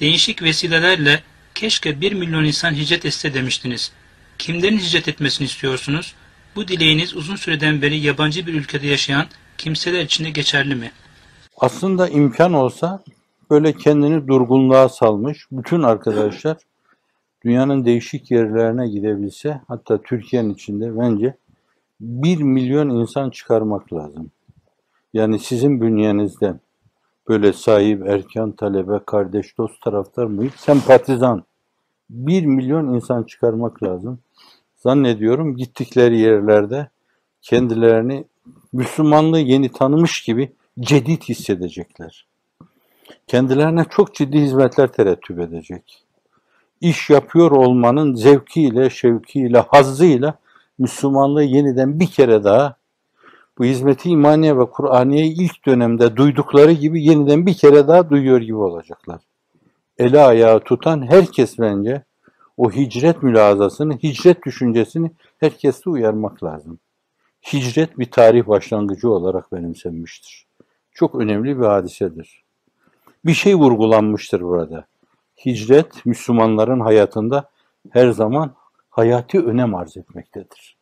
Değişik vesilelerle keşke 1 milyon insan hicret etse demiştiniz. Kimlerin hicret etmesini istiyorsunuz? Bu dileğiniz uzun süreden beri yabancı bir ülkede yaşayan kimseler için de geçerli mi? Aslında imkan olsa böyle kendini durgunluğa salmış bütün arkadaşlar dünyanın değişik yerlerine gidebilse, hatta Türkiye'nin içinde bence 1 milyon insan çıkarmak lazım. Yani sizin bünyenizden böyle sahip, erkan, talebe, kardeş, dost, taraftar, muhit, sempatizan 1 milyon insan çıkarmak lazım. Zannediyorum gittikleri yerlerde kendilerini Müslümanlığı yeni tanımış gibi cedid hissedecekler. Kendilerine çok ciddi hizmetler terettüp edecek. İş yapıyor olmanın zevkiyle, şevkiyle, hazzıyla Müslümanlığı yeniden bir kere daha bu hizmeti imaniye ve Kur'aniye'yi ilk dönemde duydukları gibi yeniden bir kere daha duyuyor gibi olacaklar. Eli ayağı tutan herkes bence o hicret mülazasını, hicret düşüncesini herkeste uyarmak lazım. Hicret bir tarih başlangıcı olarak benimsenmiştir. Çok önemli bir hadisedir. Bir şey vurgulanmıştır burada. Hicret Müslümanların hayatında her zaman hayati önem arz etmektedir.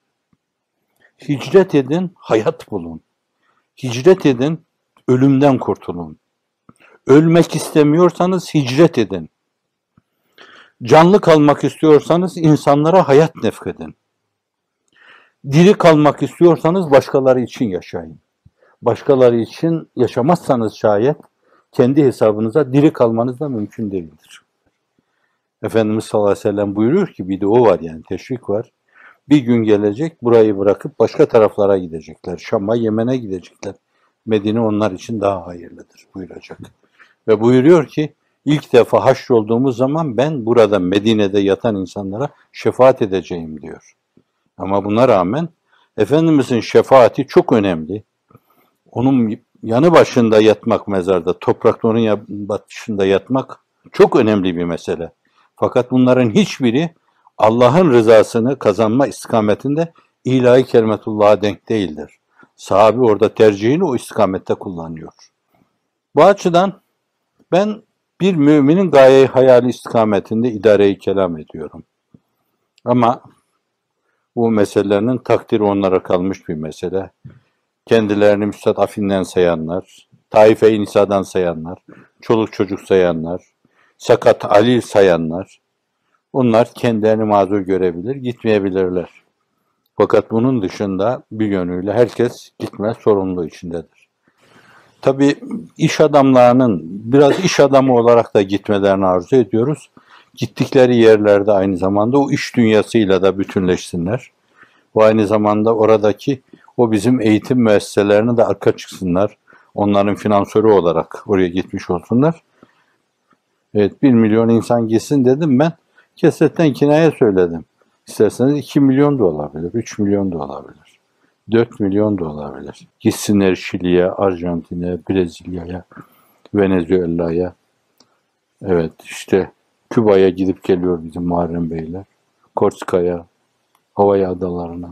Hicret edin, hayat bulun. Hicret edin, ölümden kurtulun. Ölmek istemiyorsanız hicret edin. Canlı kalmak istiyorsanız insanlara hayat nefkedin. Diri kalmak istiyorsanız başkaları için yaşayın. Başkaları için yaşamazsanız şayet kendi hesabınıza diri kalmanız da mümkün değildir. Efendimiz sallallahu aleyhi ve sellem buyuruyor ki, bir de o var, yani teşvik var. Bir gün gelecek, burayı bırakıp başka taraflara gidecekler. Şam'a, Yemen'e gidecekler. Medine onlar için daha hayırlıdır buyuracak. Ve buyuruyor ki, ilk defa haşrolduğumuz zaman ben burada Medine'de yatan insanlara şefaat edeceğim diyor. Ama buna rağmen Efendimizin şefaati çok önemli. Onun yanı başında yatmak mezarda, toprakta onun yanı başında yatmak çok önemli bir mesele. Fakat bunların hiçbiri Allah'ın rızasını kazanma istikametinde ilahi kelimetullah'a denk değildir. Sahabe orada tercihini o istikamette kullanıyor. Bu açıdan ben bir müminin gaye-i hayali istikametinde idare-i kelam ediyorum. Ama bu meselelerinin takdiri onlara kalmış bir mesele. Kendilerini müstadafinden sayanlar, taife-i nisadan sayanlar, çoluk çocuk sayanlar, sakat alil sayanlar, onlar kendilerini mazur görebilir, gitmeyebilirler. Fakat bunun dışında bir yönüyle herkes gitme sorumluluğu içindedir. Tabii iş adamlarının biraz iş adamı olarak da gitmelerini arzu ediyoruz. Gittikleri yerlerde aynı zamanda o iş dünyasıyla da bütünleşsinler. Bu aynı zamanda oradaki o bizim eğitim müesseselerine de arka çıksınlar. Onların finansörü olarak oraya gitmiş olsunlar. Evet, 1 milyon insan gitsin dedim ben. Kesetten kinaye söyledim. İsterseniz 2 milyon da olabilir, 3 milyon da olabilir. 4 milyon da olabilir. Gitsinler Şili'ye, Arjantin'e, Brezilya'ya, Venezuela'ya. Evet, işte Küba'ya gidip geliyor bizim Muharrem Beyler. Korsika'ya, Hawaii adalarına.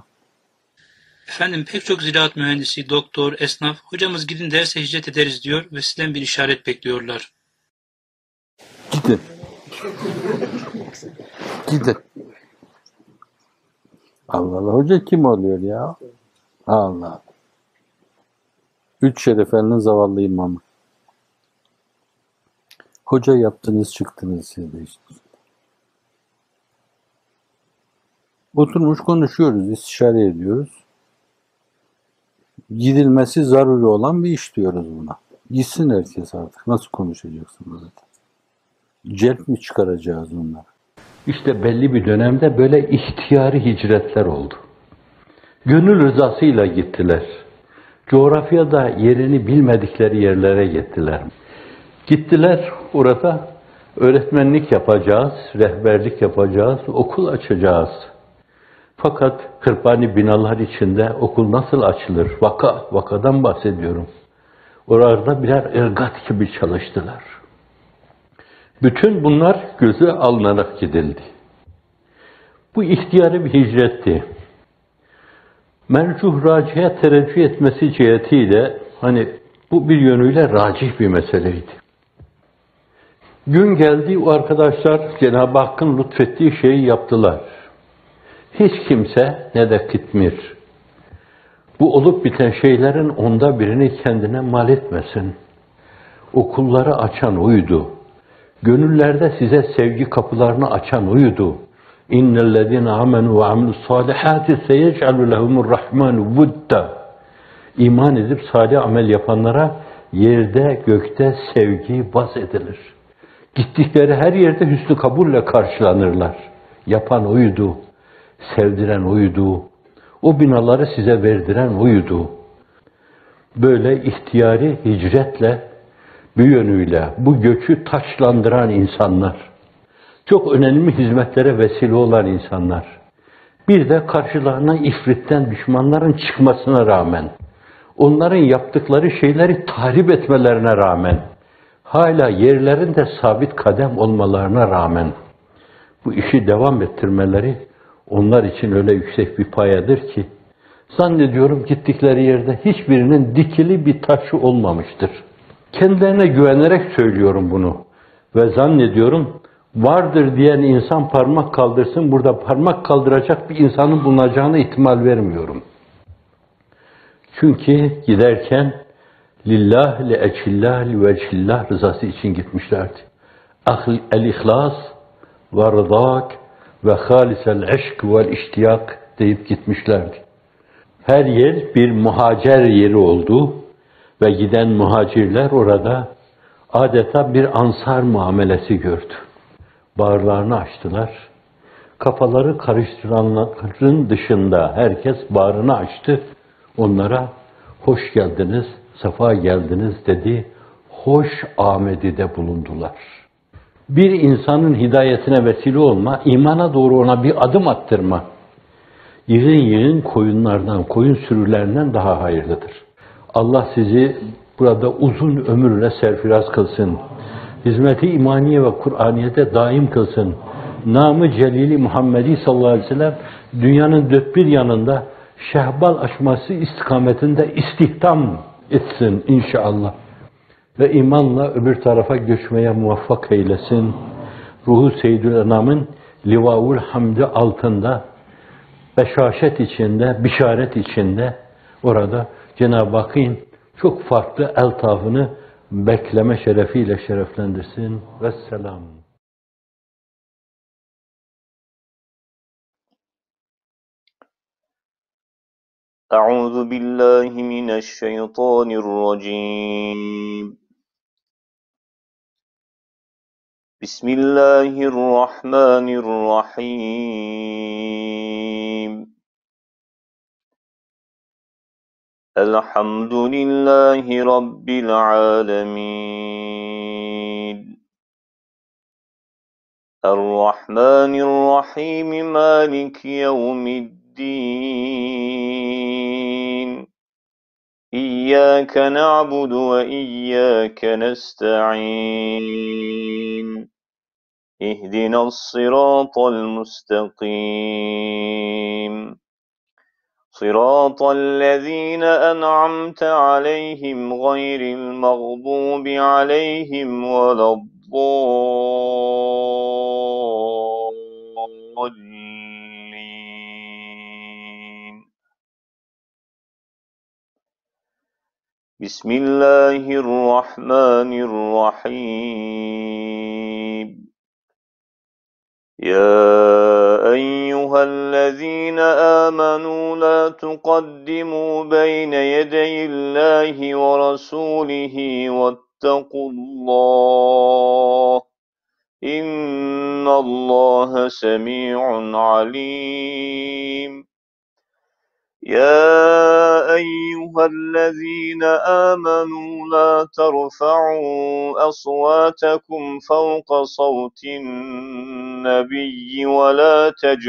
Efendim pek çok ziraat mühendisi, doktor, esnaf, hocamız gidin derse hicret ederiz diyor ve sizden bir işaret bekliyorlar. Gidin. Gidin. Allah Allah. Hoca kim oluyor ya? Allah. 3 şerefelinin zavallı imamı. Hoca yaptınız çıktınız siz de işte. Oturmuş konuşuyoruz, istişare ediyoruz. Gidilmesi zaruri olan bir iş diyoruz buna. Gitsin herkes artık. Nasıl konuşacaksın zaten? Celp mi çıkaracağız onları? İşte belli bir dönemde böyle ihtiyari hicretler oldu. Gönül rızasıyla gittiler. Coğrafyada yerini bilmedikleri yerlere gittiler. Gittiler, orada öğretmenlik yapacağız, rehberlik yapacağız, okul açacağız. Fakat kırpani binalar içinde okul nasıl açılır? Vakadan bahsediyorum. Orada birer ırgat gibi çalıştılar. Bütün bunlar göze alınarak gidildi. Bu ihtiyari bir hicretti. Mercuh racihe tereccüh etmesi cihetiyle hani bu bir yönüyle racih bir meseleydi. Gün geldi, o arkadaşlar Cenab-ı Hakk'ın lütfettiği şeyi yaptılar. Hiç kimse ne de Kıtmir bu olup biten şeylerin onda birini kendine mal etmesin. Okulları açan oydu. Gönüllerde size sevgi kapılarını açan oydu. İnnellezîne âmenû ve amilussâlihâti seyec'alû lehumurrahmânu vudda. İman edip salih amel yapanlara yerde gökte sevgi vaz edilir. Gittikleri her yerde hüsnü kabulle karşılanırlar. Yapan oydu, sevdiren oydu, o binaları size verdiren oydu. Böyle ihtiyari hicretle, bu yönüyle bu göçü taçlandıran insanlar, çok önemli hizmetlere vesile olan insanlar, bir de karşılarına ifritten düşmanların çıkmasına rağmen, onların yaptıkları şeyleri tahrip etmelerine rağmen, hala yerlerinde sabit kadem olmalarına rağmen, bu işi devam ettirmeleri onlar için öyle yüksek bir payedir ki, zannediyorum gittikleri yerde hiçbirinin dikili bir taşı olmamıştır. Kendilerine güvenerek söylüyorum bunu ve zannediyorum vardır diyen insan parmak kaldırsın, burada parmak kaldıracak bir insanın bulunacağına ihtimal vermiyorum. Çünkü giderken lillah, li'eçillah, li'vecillah rızası için gitmişlerdi. El-ihlas ve rıdak ve halisel eşk vel iştiyak deyip gitmişlerdi. Her yer bir muhacer yeri oldu ve giden muhacirler orada adeta bir ansar muamelesi gördü. Bağırlarını açtılar. Kafaları karıştıranların dışında herkes bağrını açtı. Onlara hoş geldiniz, sefa geldiniz dedi. Hoş amedide bulundular. Bir insanın hidayetine vesile olma, imana doğru ona bir adım attırma, yığın yığın koyunlardan, koyun sürülerinden daha hayırlıdır. Allah sizi burada uzun ömürle serfiraz kılsın. Hizmeti imaniye ve Kur'aniye'de daim kılsın. Namı Celili Muhammedi sallallahu aleyhi ve sellem dünyanın dört bir yanında şehbal açması istikametinde istihdam etsin inşallah. Ve imanla öbür tarafa göçmeye muvaffak eylesin. Ruhu Seyyidül Enam'ın Livaul Hamdi altında beşaşet içinde, bişaret içinde orada Cenab-ı Hakk'ın çok farklı eltafını bekleme şerefiyle şereflendirsin. Vesselam. أعوذ بالله من الشيطان الرجيم بسم الله الرحمن الرحيم الحمد لله رب العالمين الرحمن الرحيم مالك يوم الدين إياك نعبد وإياك نستعين اهدنا الصراط المستقيم صراط الذين أنعمت عليهم غير المغضوب عليهم ولا الضالين بسم الله الرحمن الرحيم يا أيها الذين آمنوا لا تقدموا بين يدي الله ورسوله واتقوا الله إن الله سميع عليم يا أيها الذين آمنوا لا ترفعوا أصواتكم فوق صوت النبي ولا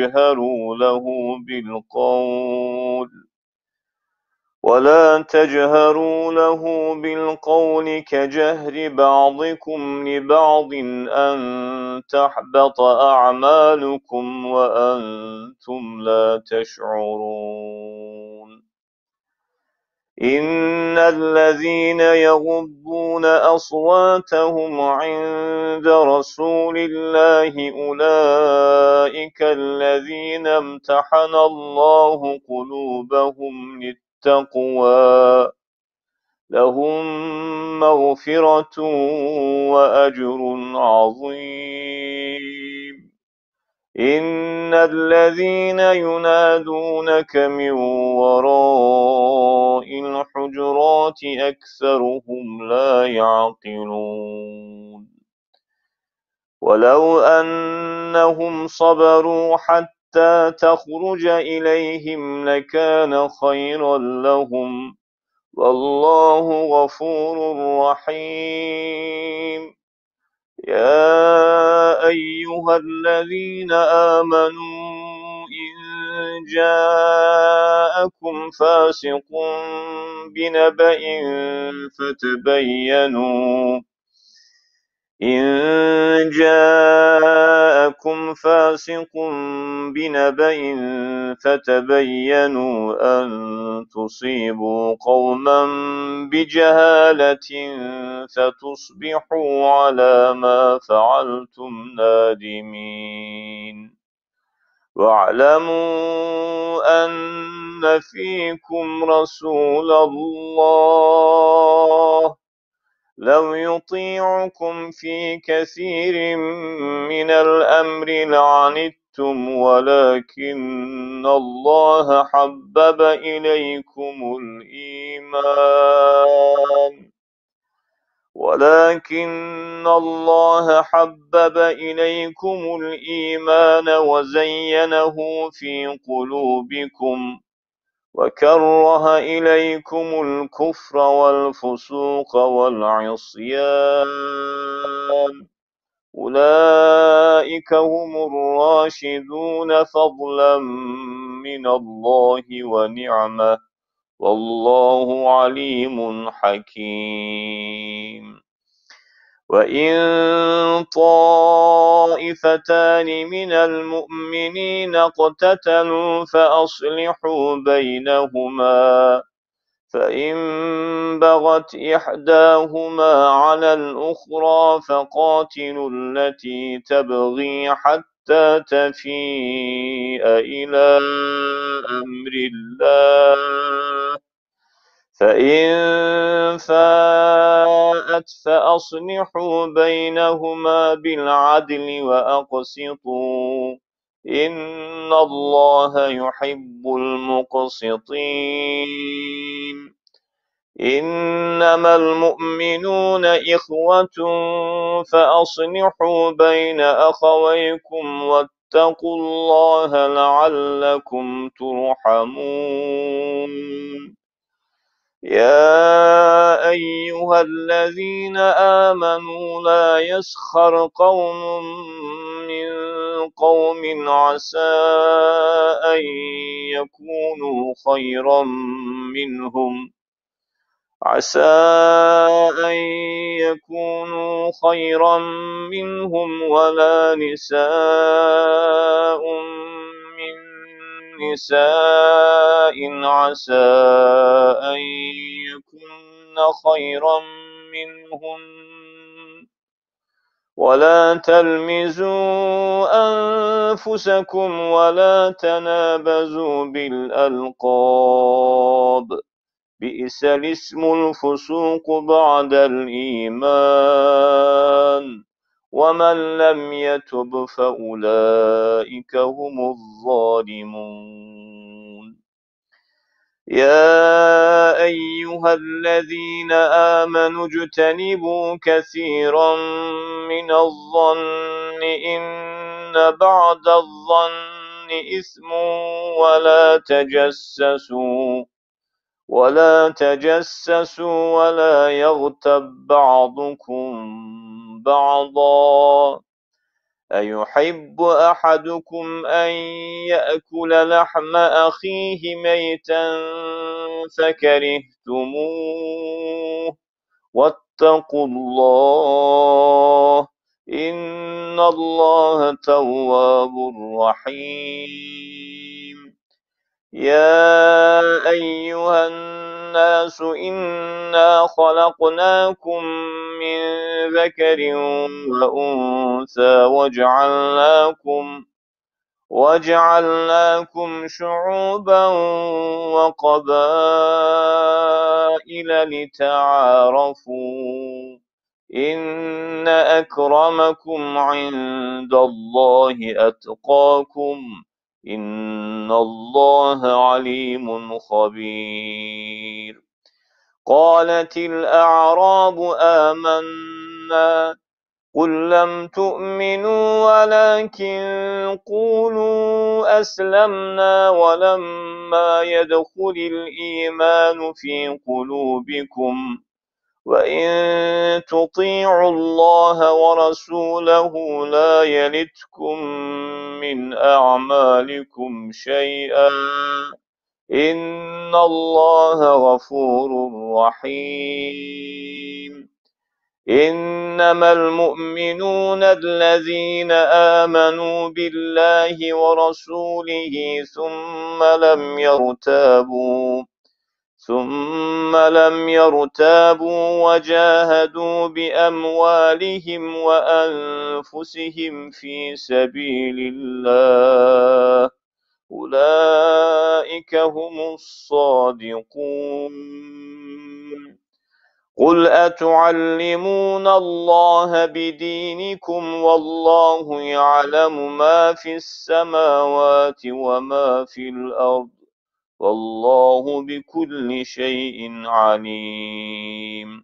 تجهروا له بالقول كجهر بعضكم لبعض أن تحبط أعمالكم وأنتم لا تشعرون إن الذين يغضون أصواتهم عند عند رسول الله أولئك الذين امتحن الله قلوبهم للتقوى لهم مغفرة وأجر عظيم إن الذين ينادونك من وراء الحجرات أكثرهم لا يعقلون ولو أنهم صبروا حتى تخرج إليهم لكان خيرا لهم والله غفور رحيم يا أيها الذين آمنوا إن جاءكم فاسق بنبأ فتبينوا أن تصيبوا قوما بجهالة فتصبحوا على ما فعلتم نادمين واعلموا أن فيكم رسول الله لو يطيعكم في كثير من الأمر لعنتم ولكن الله حبب إليكم الإيمان وزينه في قلوبكم وكره إليكم الكفر والفسوق والعصيان أولئك هم الراشدون فضلا من الله ونعمة والله عليم حكيم وإن طائفتان من المؤمنين اقتتلوا فأصلحوا بينهما فإن بغت إحداهما على الأخرى فقاتلوا التي تبغي حتى تفيء إلى أمر الله فإن فاءت فأصلحوا بينهما بالعدل وأقسطوا إن الله يحب المقسطين إنما المؤمنون إخوة فأصلحوا بين أخويكم واتقوا الله لعلكم ترحمون يا أيها الذين آمنوا لا يسخر قوم من قوم عسى أن يكونوا خيرا منهم ولا نساء من نساء عسى أن يكن خيرا منهن ولا تلمزوا أنفسكم ولا تنابزوا بالألقاب بئس الاسم الفسوق بعد الإيمان ومن لم يتب فأولئك هم الظالمون يا أيها الذين آمنوا اجتنبوا كثيرا من الظن إن بعض الظن إثم ولا تجسسوا ولا يغتب بعضكم بعضا أيحب أحدكم أن يأكل لحم أخيه ميتا فكرهتموه واتقوا الله إن الله تواب رحيم يا أيها الناس إنا خلقناكم من ذكر وأنثى وجعلناكم شعوبا وقبائل لتعارفوا إن أكرمكم عند الله أتقاكم إن الله عليم خبير قالت الأعراب آمنا قل لم تؤمنوا ولكن قولوا أسلمنا ولما يدخل الإيمان في قلوبكم وإن تطيعوا الله ورسوله لا يلتكم من أعمالكم شيئا إن الله غفور رحيم إنما المؤمنون الذين آمنوا بالله ورسوله ثم لم يرتابوا وجاهدوا بأموالهم وأنفسهم في سبيل الله أولئك هم الصادقون قل أتعلمون الله بدينكم والله يعلم ما في السماوات وما في الأرض والله بكل شيء عليم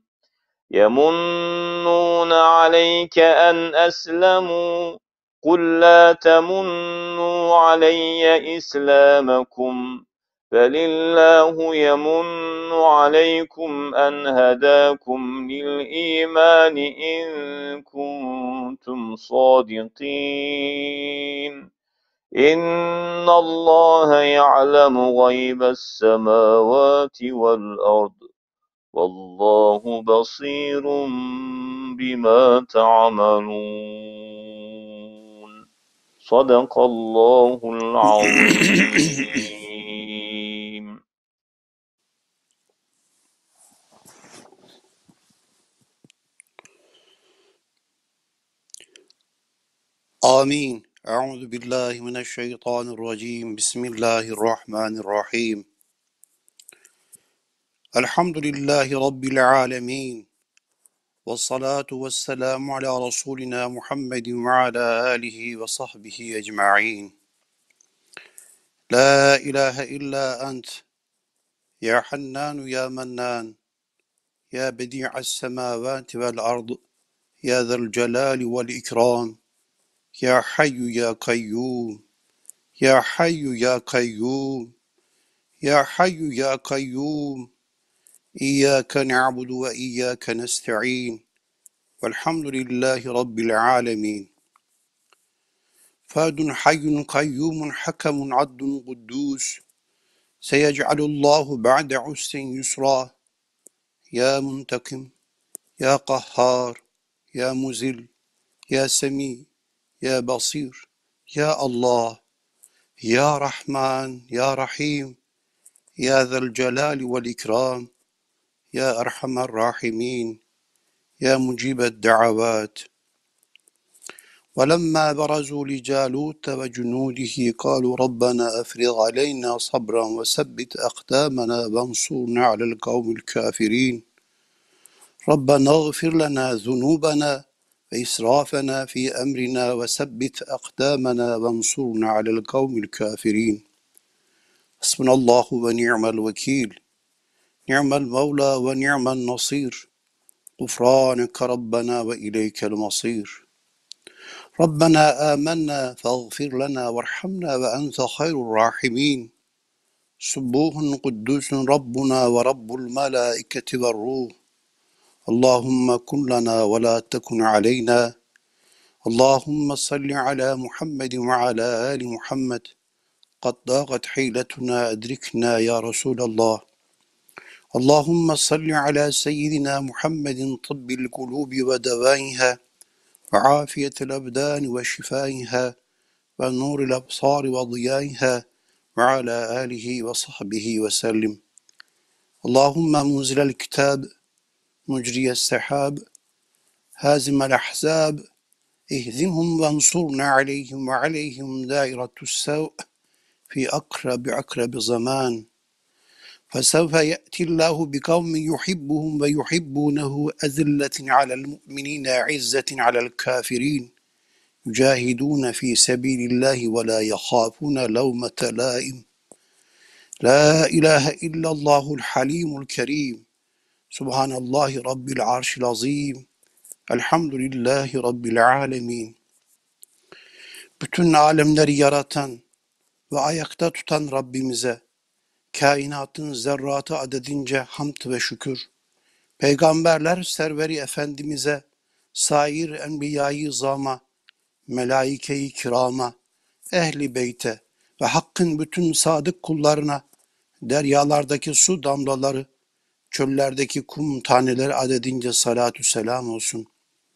يمنون عليك أن أسلموا قل لا تمنوا علي إسلامكم بل الله يمن عليكم أن هداكم للإيمان إن كنتم صادقين إن الله يعلم غيب السماوات والأرض والله بصير بما تعملون صدق الله العظيم آمين. أعوذ بالله من الشيطان الرجيم. بسم الله الرحمن الرحيم. الحمد لله رب العالمين والصلاة والسلام على رسولنا محمد وعلى آله وصحبه أجمعين. لا إله إلا أنت يا حنان يا منان يا بديع السماوات والأرض يا ذا الجلال والإكرام يا حي يا قيوم يا حي يا قيوم يا حي يا قيوم إياك نعبد وإياك نستعين والحمد لله رب العالمين. فاد حي قيوم حكم عدل قدوس سيجعل الله بعد عسر يسرا يا منتقم يا قهار يا مذل يا سميع يا بصير يا الله يا رحمن يا رحيم يا ذا الجلال والإكرام يا أرحم الراحمين يا مجيب الدعوات. ولما برزوا لجالوت وجنوده قالوا ربنا أفرغ علينا صبرا وثبت أقدامنا وانصرنا على القوم الكافرين. ربنا اغفر لنا ذنوبنا وإسرافنا في أمرنا وثبت أقدامنا وانصرنا على القوم الكافرين. حسبنا الله ونعم الوكيل نعم المولى ونعم النصير غفرانك ربنا وإليك المصير. ربنا آمنا فاغفر لنا وارحمنا وأنت خير الراحمين. سبوح قدوس ربنا ورب الملائكة والروح. اللهم كن لنا ولا تكن علينا. اللهم صل على محمد وعلى آل محمد. قد ضاقت حيلتنا أدركنا يا رسول الله. اللهم صل على سيدنا محمد طب القلوب ودوائها وعافية الأبدان وشفائها ونور الأبصار وضيائها وعلى آله وصحبه وسلم. اللهم منزل الكتاب مجري السحاب هازم الأحزاب اهزمهم وانصرنا عليهم وعليهم دائرة السوء في أقرب زمان فسوف يأتي الله بقوم يحبهم ويحبونه أذلة على المؤمنين عزة على الكافرين يجاهدون في سبيل الله ولا يخافون لومة لائم لا إله إلا الله الحليم الكريم سبحان الله رب العرش العظيم Elhamdülillahi Rabbil alemin. Bütün alemleri yaratan ve ayakta tutan Rabbimize, kainatın zerratı adedince hamd ve şükür. Peygamberler serveri Efendimiz'e, sair enbiya-i zama, melaike-i kirama, ehli beyte ve hakkın bütün sadık kullarına, deryalardaki su damlaları, çöllerdeki kum taneleri adedince salatü selam olsun.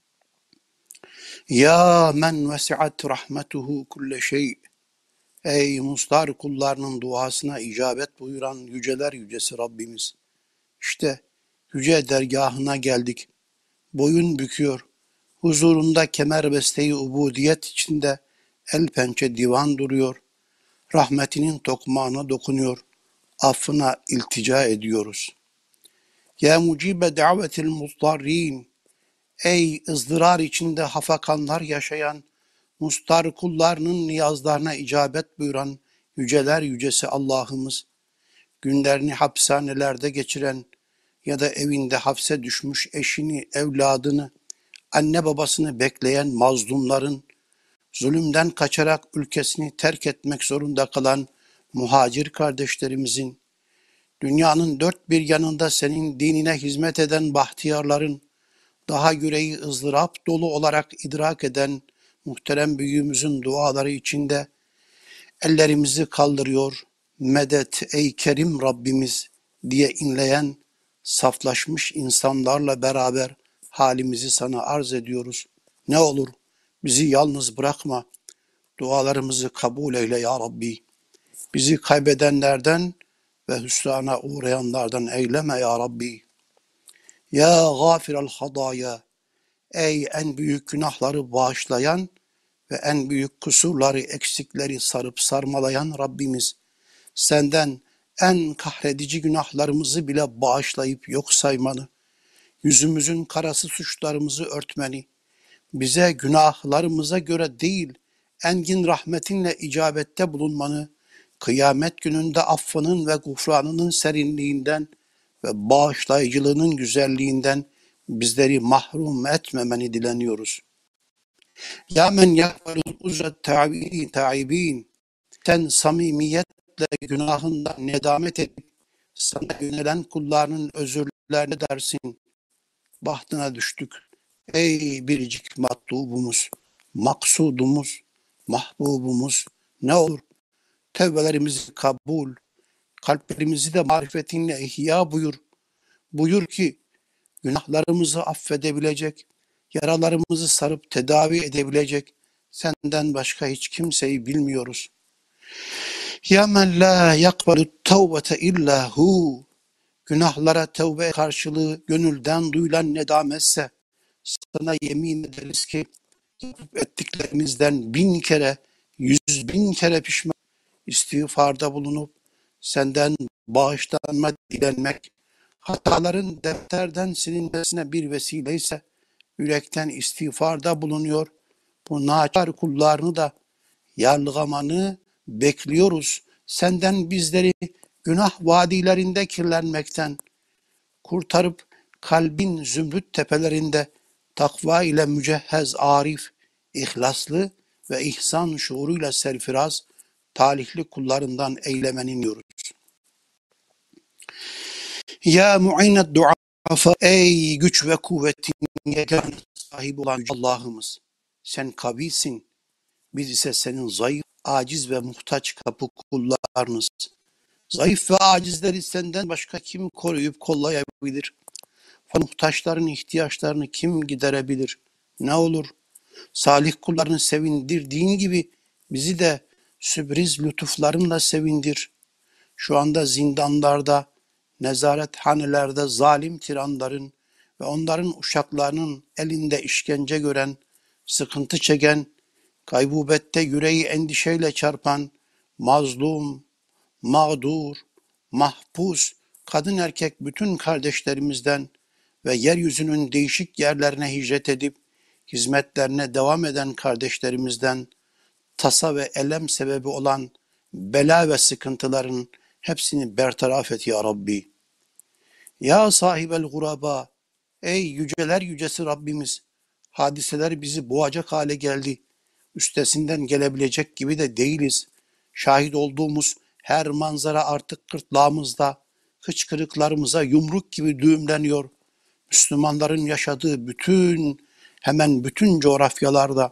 Ya men vesiat rahmetuhu kulle şey. Ey mustar kullarının duasına icabet buyuran yüceler yücesi Rabbimiz. İşte yüce dergahına geldik. Boyun büküyor. Huzurunda kemerbeste-i ubudiyet içinde el pençe divan duruyor. Rahmetinin tokmağına dokunuyor. Affına iltica ediyoruz. Ya mucibe davetil muzdarrin. Ey ızdırar içinde hafakanlar yaşayan, mustar kullarının niyazlarına icabet buyuran yüceler yücesi Allah'ımız, günlerini hapishanelerde geçiren ya da evinde hapse düşmüş eşini, evladını, anne babasını bekleyen mazlumların, zulümden kaçarak ülkesini terk etmek zorunda kalan muhacir kardeşlerimizin, dünyanın dört bir yanında senin dinine hizmet eden bahtiyarların, daha yüreği ızdırap dolu olarak idrak eden muhterem büyüğümüzün duaları içinde ellerimizi kaldırıyor, medet ey kerim Rabbimiz diye inleyen saflaşmış insanlarla beraber halimizi sana arz ediyoruz. Ne olur bizi yalnız bırakma, dualarımızı kabul eyle ya Rabbi. Bizi kaybedenlerden ve hüsrana uğrayanlardan eyleme ya Rabbi. Ya gafirel hadaya, ey en büyük günahları bağışlayan ve en büyük kusurları, eksikleri sarıp sarmalayan Rabbimiz, senden en kahredici günahlarımızı bile bağışlayıp yok saymanı, yüzümüzün karası suçlarımızı örtmeni, bize günahlarımıza göre değil, engin rahmetinle icabette bulunmanı, kıyamet gününde affının ve gufranının serinliğinden ve bağışlayıcılığının güzelliğinden bizleri mahrum etmemeni dileniyoruz. Ya men yakbalul uzret taibin. Sen samimiyetle günahından nedamet edip sana yönelen kullarının özürlerine dersin. Bahtına düştük. Ey biricik matlubumuz, maksudumuz, mahbubumuz, ne olur tevbelerimizi kabul, kalplerimizi de marifetinle ihya buyur. Buyur ki günahlarımızı affedebilecek, yaralarımızı sarıp tedavi edebilecek senden başka hiç kimseyi bilmiyoruz. Ya men la yakbalu tevbete illa hu. Günahlara tevbe karşılığı gönülden duyulan nedametse sana yemin ederiz ki yapıp ettiklerimizden 1000 kere, 100.000 kere pişman istiğfarda bulunup senden bağışlanma dilenmek, hataların defterden silinmesine bir vesileyse yürekten istiğfarda bulunuyor. Bu naçar kullarını da yarlıgamanı bekliyoruz. Senden bizleri günah vadilerinde kirlenmekten kurtarıp kalbin zümrüt tepelerinde takva ile mücehhez arif, ihlaslı ve ihsan şuuruyla serfiraz, talihli kullarından eylemeni diyoruz. Ya mu'ined duafa, ey güç ve kuvvetin yegane sahibi olan Allah'ımız, sen kavisin, biz ise senin zayıf, aciz ve muhtaç kapı kullarınız. Zayıf ve acizleri senden başka kim koruyup kollayabilir? Muhtaçların ihtiyaçlarını kim giderebilir? Ne olur salih kullarını sevindirdiğin gibi bizi de sürpriz lütuflarınla sevindir. Şu anda zindanlarda, nezarethanelerde zalim tiranların ve onların uşaklarının elinde işkence gören, sıkıntı çeken, gaybubette yüreği endişeyle çarpan, mazlum, mağdur, mahpus, kadın erkek bütün kardeşlerimizden ve yeryüzünün değişik yerlerine hicret edip hizmetlerine devam eden kardeşlerimizden tasa ve elem sebebi olan bela ve sıkıntıların hepsini bertaraf et ya Rabbi. Ya sahibel guraba, ey yüceler yücesi Rabbimiz, hadiseler bizi boğacak hale geldi. Üstesinden gelebilecek gibi de değiliz. Şahit olduğumuz her manzara artık gırtlağımızda, hıçkırıklarımıza yumruk gibi düğümleniyor. Müslümanların yaşadığı hemen bütün coğrafyalarda,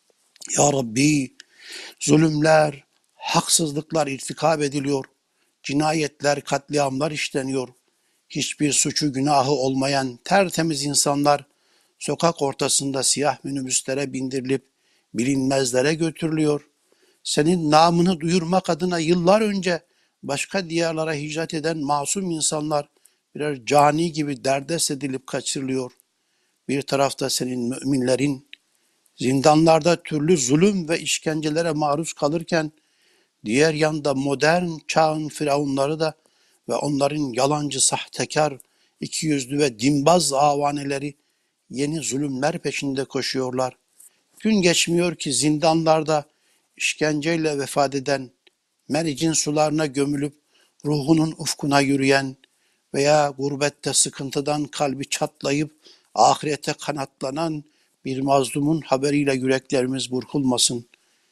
Ya Rabbi, zulümler, haksızlıklar irtikab ediliyor. Cinayetler, katliamlar işleniyor. Hiçbir suçu günahı olmayan tertemiz insanlar sokak ortasında siyah minibüslere bindirilip bilinmezlere götürülüyor. Senin namını duyurmak adına yıllar önce başka diyarlara hicret eden masum insanlar birer cani gibi derdest edilip kaçırılıyor. Bir tarafta senin müminlerin zindanlarda türlü zulüm ve işkencelere maruz kalırken, diğer yanda modern çağın firavunları da ve onların yalancı, sahtekar, ikiyüzlü ve dinbaz avaneleri yeni zulümler peşinde koşuyorlar. Gün geçmiyor ki zindanlarda işkenceyle vefat eden, mericin sularına gömülüp ruhunun ufkuna yürüyen veya gurbette sıkıntıdan kalbi çatlayıp ahirete kanatlanan bir mazlumun haberiyle yüreklerimiz burkulmasın.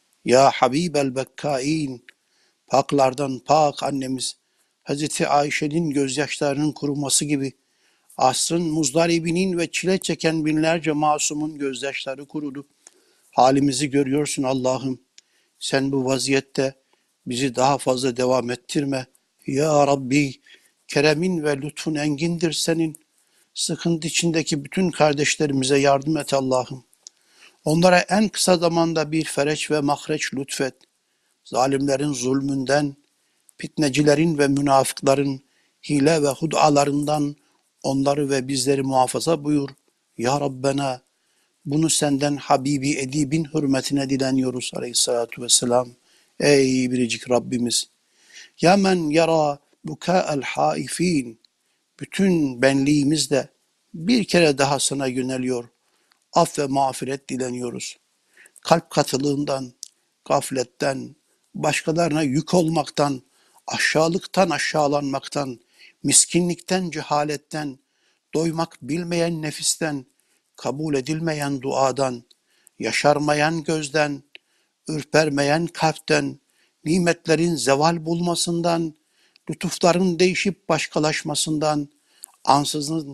Ya Habibel Bekkain, paklardan pak annemiz, Hazreti Ayşe'nin gözyaşlarının kuruması gibi asrın muzdaribinin ve çile çeken binlerce masumun gözyaşları kurudu. Halimizi görüyorsun Allah'ım. Sen bu vaziyette bizi daha fazla devam ettirme. Ya Rabbi, keremin ve lütfun engindir senin. Sıkıntı içindeki bütün kardeşlerimize yardım et Allah'ım. Onlara en kısa zamanda bir fereç ve mahreç lütfet. Zalimlerin zulmünden, fitnecilerin ve münafıkların hile ve hudalarından onları ve bizleri muhafaza buyur. Ya Rabbena, bunu senden Habibi Edib'in hürmetine dileniyoruz aleyhissalatu vesselam. Ey biricik Rabbimiz! Ya men yara bukâ'el haifîn, bütün benliğimizle bir kere daha sana yöneliyor. Af ve mağfiret dileniyoruz. Kalp katılığından, gafletten, başkalarına yük olmaktan, aşağılıktan aşağılanmaktan, miskinlikten, cehaletten, doymak bilmeyen nefisten, kabul edilmeyen duadan, yaşarmayan gözden, ürpermeyen kalpten, nimetlerin zeval bulmasından, lütufların değişip başkalaşmasından, ansızın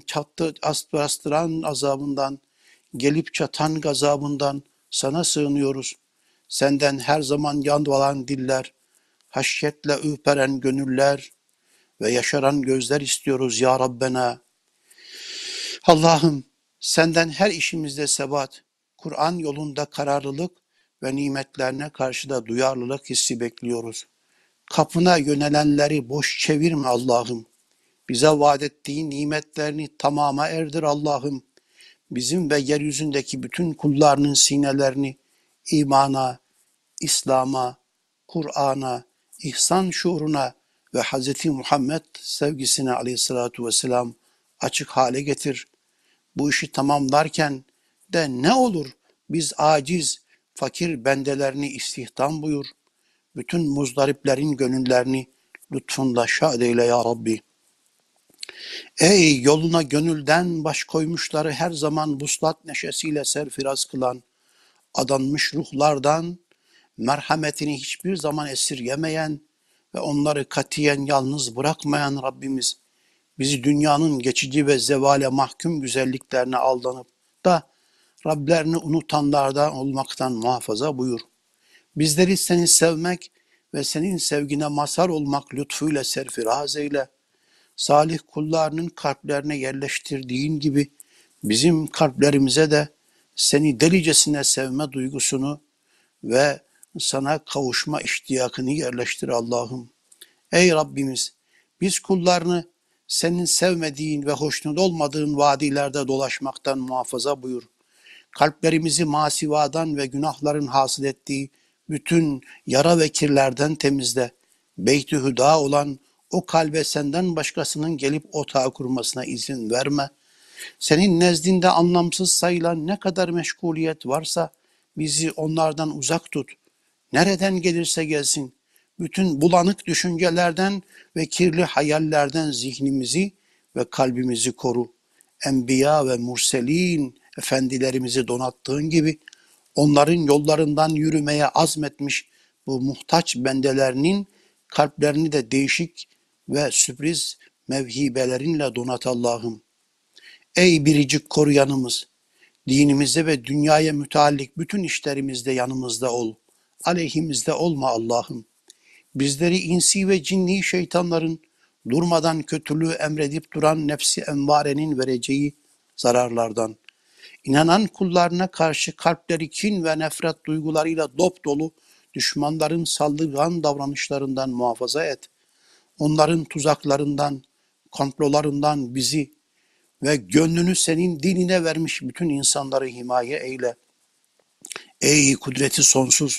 bastıran azabından, gelip çatan gazabından sana sığınıyoruz. Senden her zaman yandıran diller, haşyetle ürperen gönüller ve yaşaran gözler istiyoruz ya Rabbena. Allah'ım senden her işimizde sebat, Kur'an yolunda kararlılık ve nimetlerine karşı da duyarlılık hissi bekliyoruz. Kapına yönelenleri boş çevirme Allah'ım. Bize vaat ettiğin nimetlerini tamama erdir Allah'ım. Bizim ve yeryüzündeki bütün kullarının sinelerini imana, İslam'a, Kur'an'a, ihsan şuuruna ve Hz. Muhammed sevgisine aleyhissalatu vesselam açık hale getir. Bu işi tamamlarken de ne olur biz aciz, fakir bendelerini istihdam buyur. Bütün muzdariplerin gönüllerini lütfunla şad eyle ya Rabbi. Ey yoluna gönülden baş koymuşları her zaman vuslat neşesiyle serfiraz kılan, adanmış ruhlardan merhametini hiçbir zaman esirgemeyen ve onları katiyen yalnız bırakmayan Rabbimiz, bizi dünyanın geçici ve zevale mahkum güzelliklerine aldanıp da Rablerini unutanlardan olmaktan muhafaza buyur. Bizleri seni sevmek ve senin sevgine mazhar olmak lütfuyla serfiraz eyle. Salih kullarının kalplerine yerleştirdiğin gibi bizim kalplerimize de seni delicesine sevme duygusunu ve sana kavuşma iştiyakını yerleştir Allah'ım. Ey Rabbimiz, biz kullarını senin sevmediğin ve hoşnut olmadığın vadilerde dolaşmaktan muhafaza buyur. Kalplerimizi masivadan ve günahların hasıl ettiği bütün yara ve kirlerden temizle. Beyt-i Hüda olan o kalbe senden başkasının gelip otağı kurmasına izin verme. Senin nezdinde anlamsız sayılan ne kadar meşguliyet varsa bizi onlardan uzak tut. Nereden gelirse gelsin, bütün bulanık düşüncelerden ve kirli hayallerden zihnimizi ve kalbimizi koru. Enbiya ve murselin efendilerimizi donattığın gibi onların yollarından yürümeye azmetmiş bu muhtaç bendelerinin kalplerini de değişik ve sürpriz mevhibelerinle donat Allah'ım. Ey biricik koruyanımız, dinimizde ve dünyaya müteallik bütün işlerimizde yanımızda ol. Aleyhimizde olma Allah'ım. Bizleri insi ve cinni şeytanların durmadan kötülüğü emredip duran nefsi envarenin vereceği zararlardan, İnanan kullarına karşı kalpleri kin ve nefret duygularıyla dop dolu düşmanların saldırgan davranışlarından muhafaza et. Onların tuzaklarından, komplolarından bizi ve gönlünü senin dinine vermiş bütün insanları himaye eyle. Ey kudreti sonsuz,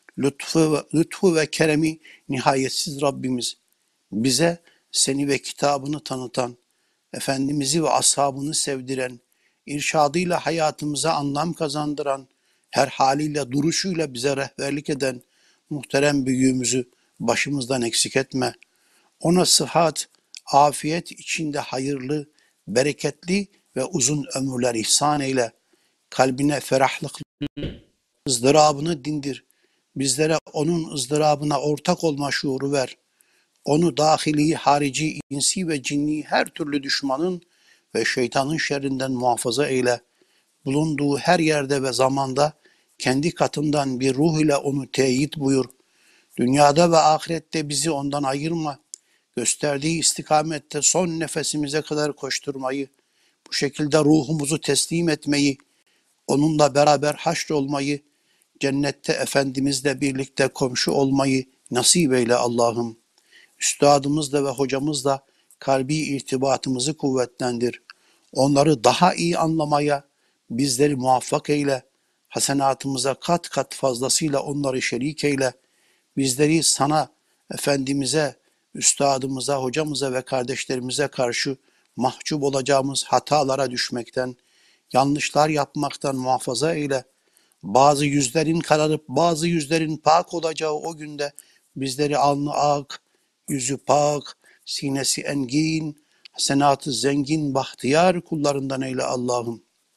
lütfu ve keremi nihayetsiz Rabbimiz, bize seni ve kitabını tanıtan, Efendimiz'i ve ashabını sevdiren, irşadıyla hayatımıza anlam kazandıran, her haliyle duruşuyla bize rehberlik eden muhterem büyüğümüzü başımızdan eksik etme. Ona sıhhat, afiyet içinde hayırlı, bereketli ve uzun ömürler ihsan eyle. Kalbine ferahlık, ızdırabını dindir. Bizlere onun ızdırabına ortak olma şuuru ver. Onu dahili, harici, insi ve cinni her türlü düşmanın ve şeytanın şerrinden muhafaza eyle. Bulunduğu her yerde ve zamanda kendi katından bir ruh ile onu teyit buyur. Dünyada ve ahirette bizi ondan ayırma. Gösterdiği istikamette son nefesimize kadar koşturmayı, bu şekilde ruhumuzu teslim etmeyi, onunla beraber haşrolmayı, cennette Efendimizle birlikte komşu olmayı nasip eyle Allah'ım. Üstadımızla ve hocamızla kalbi irtibatımızı kuvvetlendir. Onları daha iyi anlamaya bizleri muvaffak eyle. Hasenatımıza kat kat fazlasıyla onları şerik eyle. Bizleri sana, Efendimiz'e, üstadımıza, hocamıza ve kardeşlerimize karşı mahcup olacağımız hatalara düşmekten, yanlışlar yapmaktan muhafaza eyle. Bazı yüzlerin kararıp bazı yüzlerin pak olacağı o günde bizleri alnı ak, yüzü pak, sinesi engin, hasenatı zengin, bahtiyar kullarından eyle Allah'ım.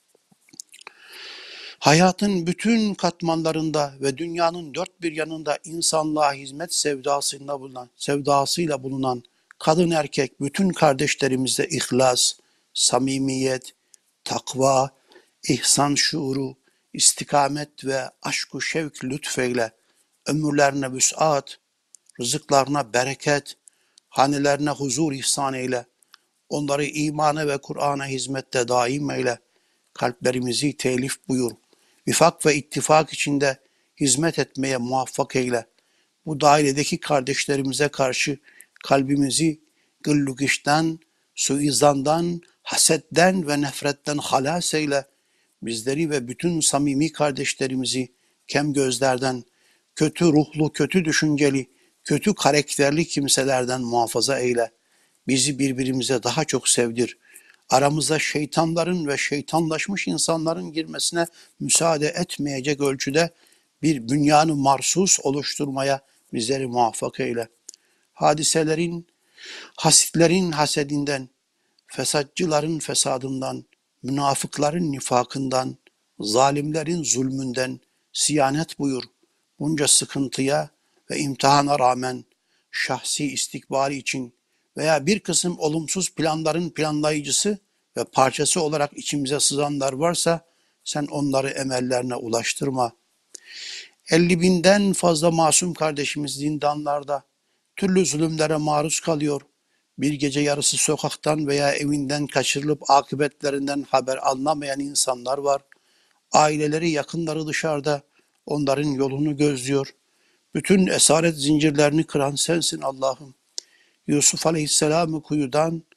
Hayatın bütün katmanlarında ve dünyanın dört bir yanında insanlığa hizmet sevdasıyla bulunan kadın erkek bütün kardeşlerimizde ihlas, samimiyet, takva, ihsan şuuru, istikamet ve aşk-ı şevk lütfeyle, ömürlerine vüs'at, rızıklarına bereket, hanelerine huzur ihsan eyle, onları imana ve Kur'an'a hizmette daim eyle, kalplerimizi telif buyur, vifak ve ittifak içinde hizmet etmeye muvaffak eyle. Bu dairedeki kardeşlerimize karşı kalbimizi gıllugişten, suizandan, hasetten ve nefretten halas eyle. Bizleri ve bütün samimi kardeşlerimizi kem gözlerden, kötü ruhlu, kötü düşünceli, kötü karakterli kimselerden muhafaza eyle. Bizi birbirimize daha çok sevdir. Aramıza şeytanların ve şeytanlaşmış insanların girmesine müsaade etmeyecek ölçüde bir bünyanı marsus oluşturmaya bizleri muvaffak eyle. Hadiselerin, hasitlerin hasedinden, fesatçıların fesadından, münafıkların nifakından, zalimlerin zulmünden siyanet buyur. Bunca sıkıntıya ve imtihana rağmen şahsi istikbali için veya bir kısım olumsuz planların planlayıcısı ve parçası olarak içimize sızanlar varsa sen onları emellerine ulaştırma. 50.000'den fazla masum kardeşimiz zindanlarda türlü zulümlere maruz kalıyor. Bir gece yarısı sokaktan veya evinden kaçırılıp akıbetlerinden haber alınamayan insanlar var. Aileleri, yakınları dışarıda onların yolunu gözlüyor. Bütün esaret zincirlerini kıran sensin Allah'ım. Yusuf Aleyhisselam'ı kuyudan,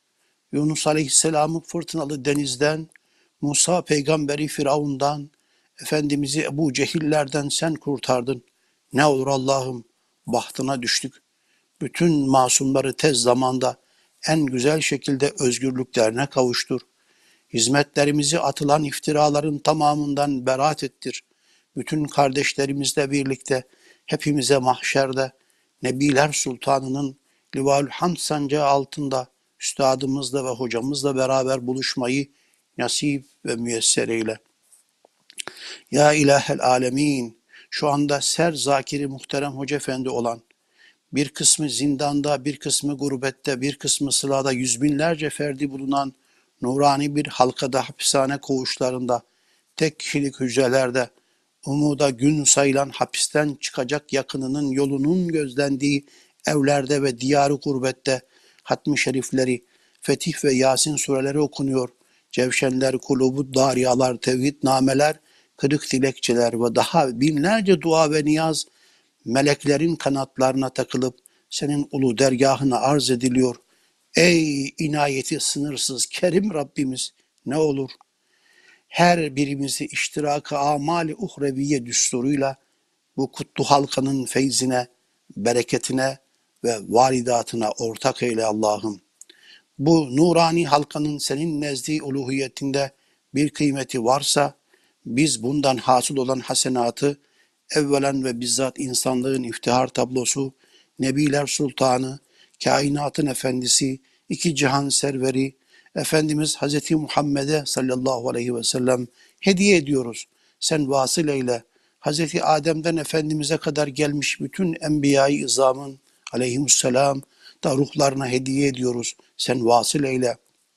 Yunus Aleyhisselam'ı fırtınalı denizden, Musa peygamberi Firavun'dan, Efendimiz'i Ebu Cehillerden sen kurtardın. Ne olur Allah'ım, bahtına düştük. Bütün masumları tez zamanda en güzel şekilde özgürlüklerine kavuştur. Hizmetlerimizi atılan iftiraların tamamından beraat ettir. Bütün kardeşlerimizle birlikte hepimize mahşerde Nebiler Sultanı'nın Livaül Hamd sancağı altında üstadımızla ve hocamızla beraber buluşmayı nasip ve müyesser eyle. Ya İlahel Alemin, şu anda ser zakiri muhterem Hoca Efendi olan, bir kısmı zindanda, bir kısmı gurbette, bir kısmı sılada yüz binlerce ferdi bulunan nurani bir halkada hapishane koğuşlarında, tek kişilik hücrelerde, umuda gün sayılan hapisten çıkacak yakınının yolunun gözlendiği evlerde ve diyarı gurbette hatmi şerifleri, Fetih ve Yasin sureleri okunuyor. Cevşenler, kulubu, dariyalar, tevhid nameler, kırık dilekçeler ve daha binlerce dua ve niyaz meleklerin kanatlarına takılıp senin ulu dergahına arz ediliyor. Ey inayeti sınırsız Kerim Rabbimiz, ne olur her birimizi iştirak-ı amali uhreviye düsturuyla bu kutlu halkanın feyzine, bereketine ve varidatına ortak eyle Allah'ım. Bu nurani halkanın senin nezdi uluhiyetinde bir kıymeti varsa, biz bundan hasıl olan hasenatı, evvelen ve bizzat insanlığın iftihar tablosu, Nebiler Sultanı, kainatın efendisi, iki cihan serveri, Efendimiz Hazreti Muhammed'e sallallahu aleyhi ve sellem hediye ediyoruz. Sen vasıl eyle. Hazreti Adem'den Efendimiz'e kadar gelmiş bütün enbiya-i izamın aleyhisselam da ruhlarına hediye ediyoruz. Sen vasıl eyle.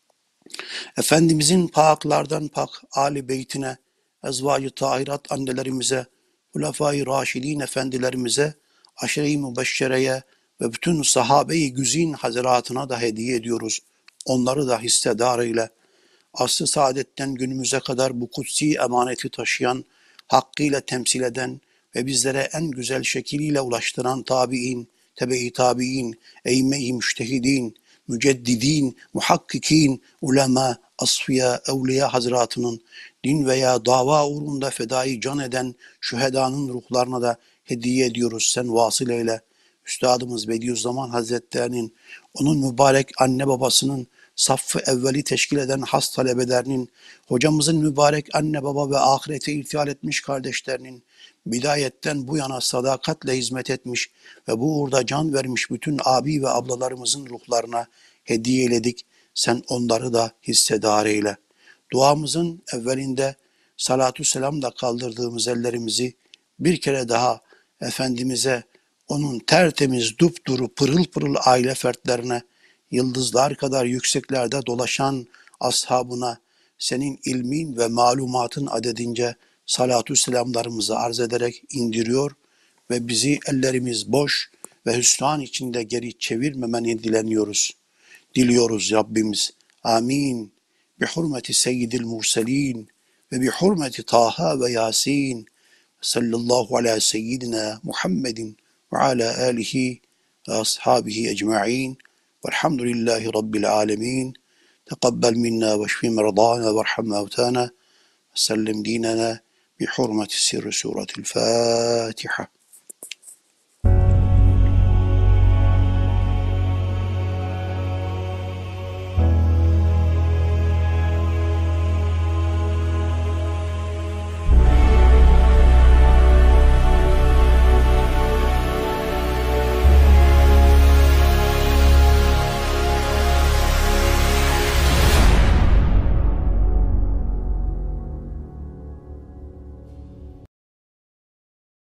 Efendimizin paklardan pak Ali beytine, ezvacı tahirat annelerimize, Hulefai Raşidin efendilerimize, aşire-i mübeşşereye ve bütün sahabe-i güzin hazaratına da hediye ediyoruz. Onları da hissedar eyle. Asr-ı saadetten günümüze kadar bu kutsi emaneti taşıyan, hakkıyla temsil eden ve bizlere en güzel şekliyle ulaştıran tabi'in, tebe-i tabi'in, eyyime-i müştehidin, müceddidin, muhakkikin, ulema, asfiya, evliya hazretinin din veya dava uğrunda fedai can eden şühedanın ruhlarına da hediye ediyoruz. Sen vasıl eyle. Üstadımız Bediüzzaman Hazretlerinin, onun mübarek anne babasının, saffı evveli teşkil eden has talebelerinin, hocamızın mübarek anne baba ve ahirete irtihal etmiş kardeşlerinin, bidayetten bu yana sadakatle hizmet etmiş ve bu uğurda can vermiş bütün abi ve ablalarımızın ruhlarına hediye eyledik. Sen onları da hissedar eyle. Duamızın evvelinde salatü selamla kaldırdığımız ellerimizi bir kere daha Efendimiz'e, onun tertemiz, dupduru, pırıl pırıl aile fertlerine, yıldızlar kadar yükseklerde dolaşan ashabına, senin ilmin ve malumatın adedince salatü selamlarımızı arz ederek indiriyor ve bizi ellerimiz boş ve hüsran içinde geri çevirmemeni diliyoruz Rabbimiz. Amin. Bi hurmeti seyyidil murselin ve bi hurmeti Taha ve Yasin. Sallallahu ala seyyidina Muhammedin ve ala alihi ve ashabihi ecma'in. Velhamdülillahi Rabbil alemin. Teqabbel minna ve şfi merdana ve erham mevtana. Sellem dinana bi hurmeti sirri suretil Fatiha.